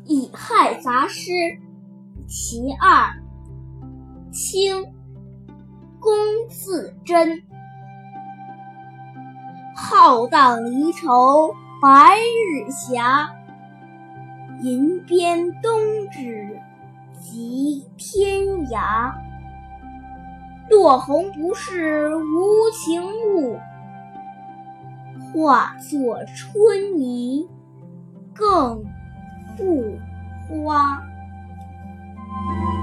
乙亥杂诗其二，清，龚自珍。浩荡离愁白日霞，银鞭东指及天涯。落红不是无情物，化作春泥更复花。